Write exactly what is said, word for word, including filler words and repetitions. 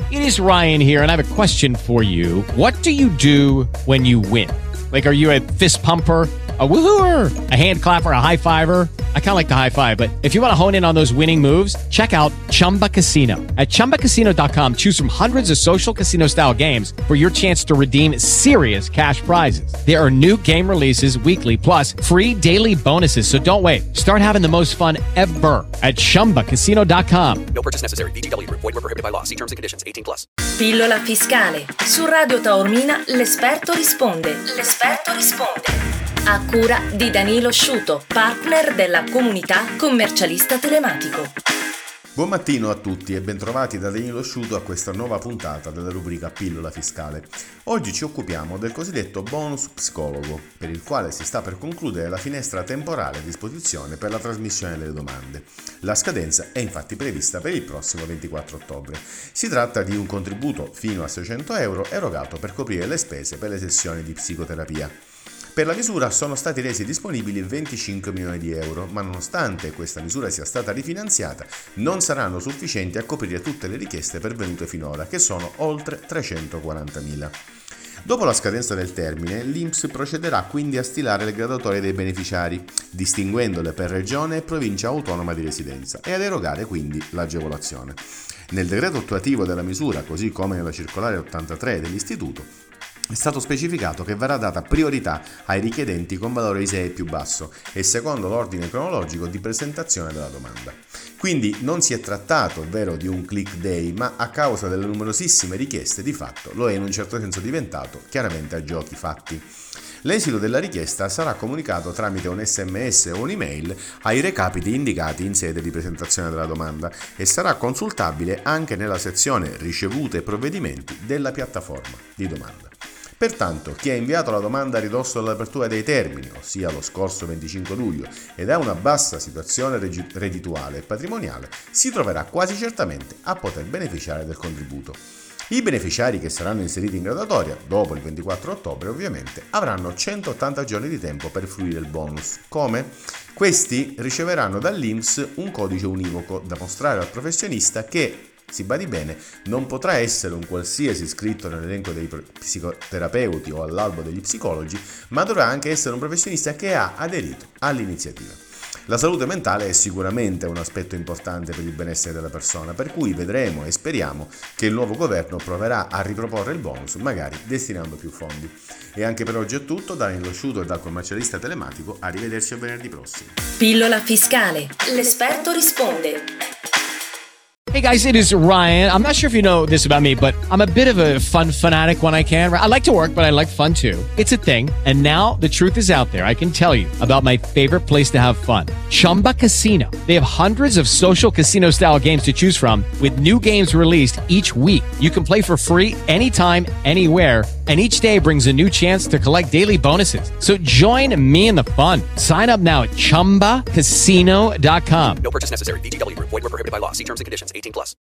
It is Ryan here, and I have a question for you. What do you do when you win? Like, are you a fist pumper, a woohooer, a hand clapper, a high fiver? I kind of like the high five, but if you want to hone in on those winning moves, check out Chumba Casino. At chumba casino dot com, choose from hundreds of social casino style games for your chance to redeem serious cash prizes. There are new game releases weekly, plus free daily bonuses. So don't wait. Start having the most fun ever at chumba casino dot com. No purchase necessary. V G W Group. Void where prohibited by law. See terms and conditions. eighteen plus. Pillola fiscale. Su Radio Taormina l'esperto risponde. L'esperto risponde. A cura di Danilo Sciuto, partner della comunità commercialista telematico. Buon mattino a tutti e bentrovati da Danilo Sciuto a questa nuova puntata della rubrica Pillola fiscale. Oggi ci occupiamo del cosiddetto bonus psicologo, per il quale si sta per concludere la finestra temporale a disposizione per la trasmissione delle domande. La scadenza è infatti prevista per il prossimo ventiquattro ottobre. Si tratta di un contributo fino a seicento euro erogato per coprire le spese per le sessioni di psicoterapia. Per la misura sono stati resi disponibili venticinque milioni di euro, ma nonostante questa misura sia stata rifinanziata, non saranno sufficienti a coprire tutte le richieste pervenute finora, che sono oltre trecentoquarantamila. Dopo la scadenza del termine, l'I N P S procederà quindi a stilare le graduatorie dei beneficiari, distinguendole per regione e provincia autonoma di residenza, e ad erogare quindi l'agevolazione. Nel decreto attuativo della misura, così come nella circolare ottantatré dell'Istituto, è stato specificato che verrà data priorità ai richiedenti con valore I S E E più basso e secondo l'ordine cronologico di presentazione della domanda. Quindi non si è trattato, ovvero, di un click day, ma a causa delle numerosissime richieste di fatto lo è in un certo senso diventato, chiaramente a giochi fatti. L'esito della richiesta sarà comunicato tramite un sms o un'email ai recapiti indicati in sede di presentazione della domanda e sarà consultabile anche nella sezione ricevute e provvedimenti della piattaforma di domanda. Pertanto, chi ha inviato la domanda a ridosso dell'apertura dei termini, ossia lo scorso venticinque luglio, ed ha una bassa situazione reddituale e patrimoniale, si troverà quasi certamente a poter beneficiare del contributo. I beneficiari che saranno inseriti in graduatoria, dopo il ventiquattro ottobre ovviamente, avranno centottanta giorni di tempo per fruire il bonus. Come? Questi riceveranno dall'I N P S un codice univoco da mostrare al professionista che, si badi bene, non potrà essere un qualsiasi iscritto nell'elenco dei psicoterapeuti o all'albo degli psicologi, ma dovrà anche essere un professionista che ha aderito all'iniziativa. La salute mentale è sicuramente un aspetto importante per il benessere della persona, per cui vedremo e speriamo che il nuovo governo proverà a riproporre il bonus, magari destinando più fondi. E anche per oggi è tutto, da Danilo Sciuto e dal commercialista telematico, arrivederci a venerdì prossimo. Pillola fiscale, l'esperto risponde. Hey guys, it is Ryan. I'm not sure if you know this about me, but I'm a bit of a fun fanatic when I can. I like to work, but I like fun too. It's a thing. And now the truth is out there. I can tell you about my favorite place to have fun. Chumba Casino. They have hundreds of social casino style games to choose from with new games released each week. You can play for free anytime, anywhere. And each day brings a new chance to collect daily bonuses. So join me in the fun. Sign up now at chumba casino dot com. No purchase necessary. V G W Group. Void where prohibited by law. See terms and conditions. eighteen plus.